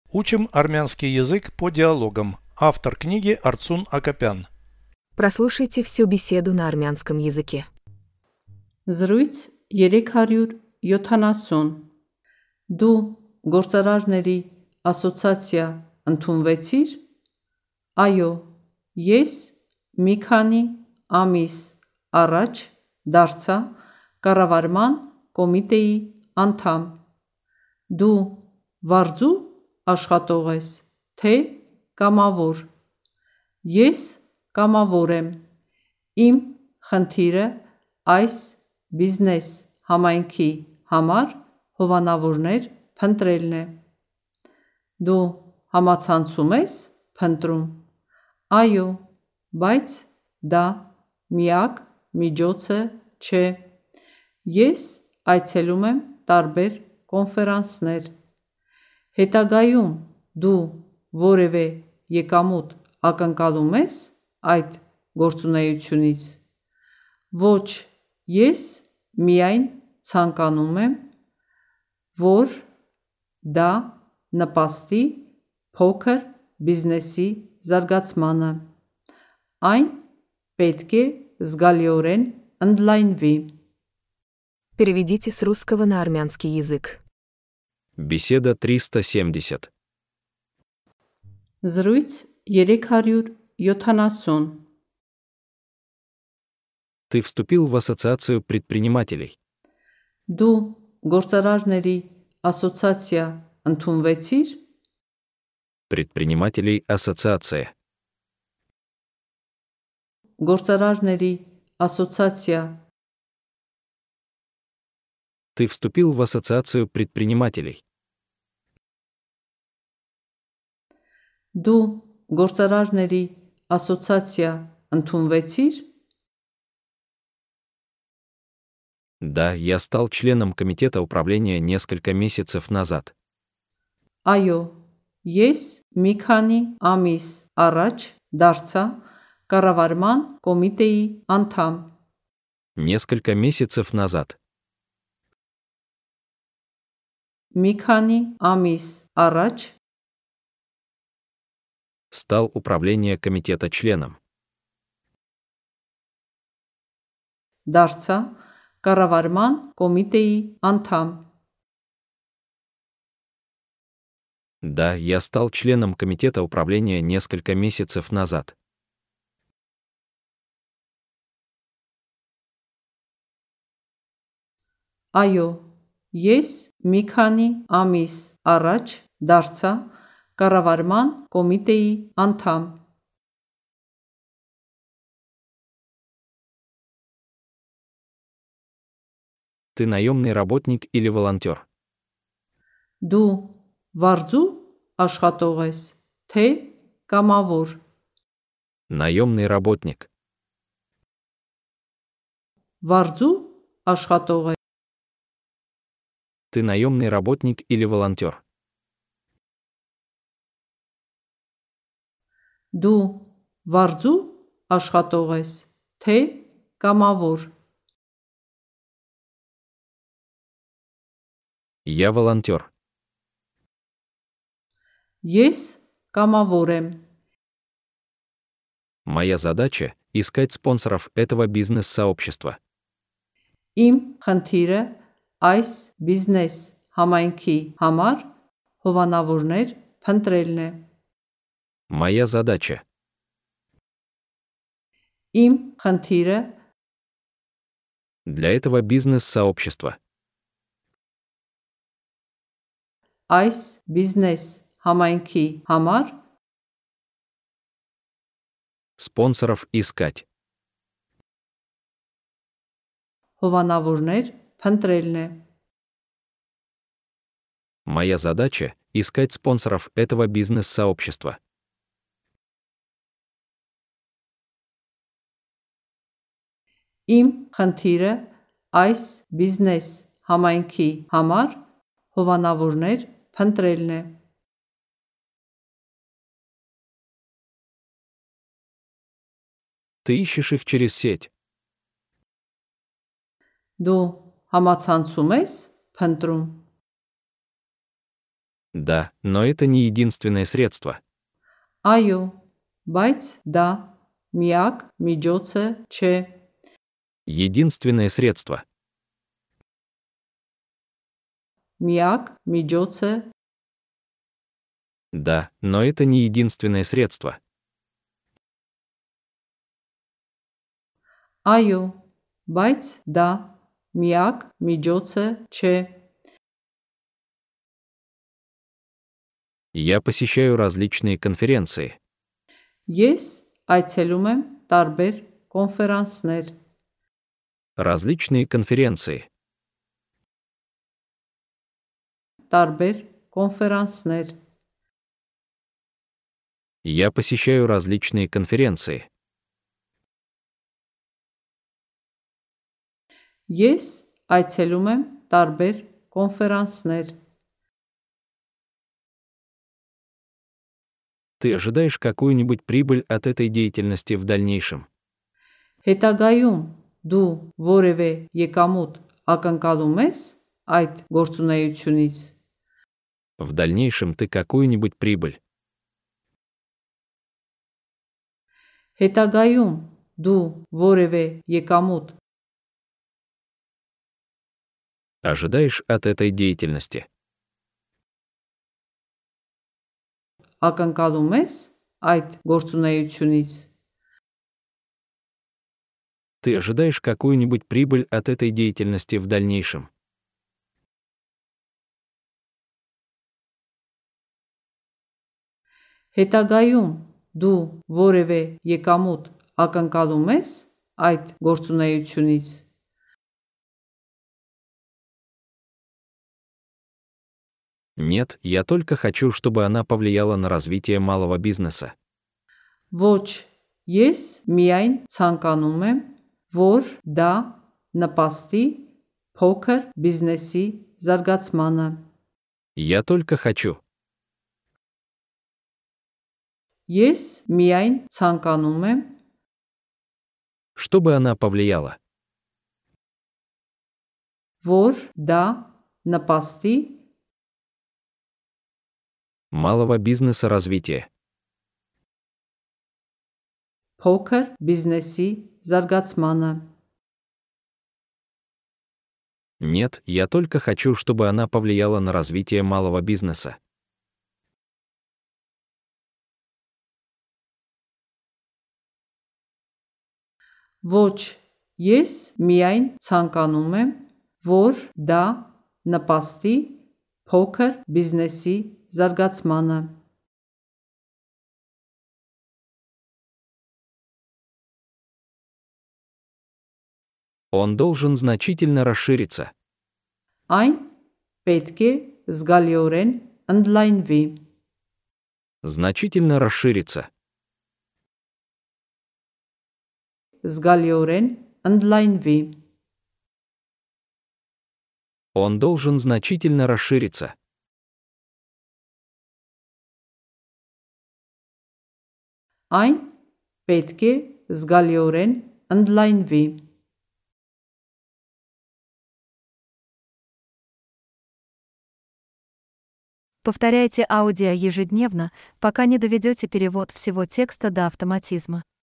Учим армянский язык по диалогам. Автор книги Арцун Акопян. Прослушайте всю беседу на армянском языке. Զրույց 370 Դու գործարարների ասոցիացիա ընդունվեցիր? Այո, ես մի քանի ամիս առաջ դարձա կառավարման կոմիտեի անդամ։ Դու վարձու աշխատող ես, թե կամավոր։ Ես կամավոր եմ։ Իմ խնդիրը այս բիզնես համայնքի համար հովանավորներ փնտրելն է։ Դու համացանցում ես փնտրում։ Այո, բայց դա միակ միջոցը չէ։ Ես այցելում եմ տարբեր կոնֆերանսներ։ Հետագայում դու որևէ եկամուտ ակնկալում ես այդ գործունեությունից։ Ոչ, ես միայն ցանկանում եմ, որ դա նպաստի փոքր բիզնեսի զարգացմանը։ Այն պետք է զգալիորեն ընդլայնվի։ Переведите с русского на армянский язык. Беседа 370. Զրույց 370 Ты вступил в ассоциацию предпринимателей. Դու գործարարների ասոցիացիա ընդունվեցիր? Предпринимателей ассоциация. Գործարարների ասոցիացիա Ты вступил в ассоциацию предпринимателей. Դու գործարարների ասոցիացիա ընդունվեցիր? Да, я стал членом комитета управления несколько месяцев назад. Այո, ես մի քանի ամիս առաջ դարձա կառավարման կոմիտեի անդամ։ Несколько месяцев назад. Մի քանի ամիս առաջ Стал управление комитета членом. դարձա կառավարման կոմիտեի անդամ։ Да, я стал членом комитета управления несколько месяцев назад. Այո, ես մի քանի ամիս առաջ դարձա կառավարման կոմիտեի անդամ։ Ты наемный работник или волонтер? Դու վարձու աշխատող ես, թե կամավոր։ Наемный работник. Վարձու աշխատող ես։ Ты наемный работник или волонтер? Դու վարձու աշխատող ես, թե կամավոր։ Я волонтер. Ես կամավոր եմ։ Моя задача – искать спонсоров этого бизнес-сообщества. Իմ խնդիրը այս բիզնես համայնքի համար հովանավորներ փնտրելն է։ Моя задача Իմ խնդիրը для этого бизнес-сообщества. այս բիզնես համայնքի համար Спонсоров искать. հովանավորներ փնտրելն է։ Моя задача – искать спонсоров этого бизнес-сообщества. Իմ խնդիրը այս բիզնես համայնքի համար հովանավորներ փնտրելն է։ Ты ищешь их через сеть. Դու համացանցում ես փնտրում։ Да, но это не единственное средство. Այո, բայց դա միակ միջոցը չէ։ Единственное средство. Միակ միջոցը Да, но это не единственное средство. Այո, բայց դա միակ միջոցը չէ։ Я посещаю различные конференции. Ես այցելում եմ տարբեր կոնֆերանսներ։ Различные конференции. Տարբեր կոնֆերանսներ։ Я посещаю различные конференции. Ես այցելում եմ տարբեր կոնֆերանսներ։ Ты ожидаешь какую-нибудь прибыль от этой деятельности в дальнейшем? Հետագայում դու որևէ եկամուտ ակնկալում ես այդ գործունեությունից։ В дальнейшем ты какую-нибудь прибыль. Հետագայում դու որևէ եկամուտ Ожидаешь от этой деятельности? ակնկալում ես այդ գործունեությունից։ Ты ожидаешь какую-нибудь прибыль от этой деятельности в дальнейшем? Հետագայում դու որևէ եկամուտ ակնկալում ես այդ գործունեությունից։ Нет, я только хочу, чтобы она повлияла на развитие малого бизнеса. Ոչ, ես միայն ցանկանում եմ, որ դա նպաստի փոքր բիզնեսի զարգացմանը։ Я только хочу. Ես միայն ցանկանում եմ, Чтобы она повлияла. որ դա նպաստի Малого бизнеса развития. փոքր բիզնեսի զարգացմանը։ Нет, я только хочу, чтобы она повлияла на развитие малого бизнеса. Ոչ, ես միայն ցանկանում եմ, որ դա նպաստի փոքր բիզնեսի զարգացմանը։ Он должен значительно расшириться. Այն պետք է զգալիորեն ընդլայնվի։ Значительно расшириться. Զգալիորեն ընդլայնվի։ Он должен значительно расшириться. Այն պետք է զգալիորեն ընդլայնվի։ Повторяйте аудио ежедневно, пока не доведете перевод всего текста до автоматизма.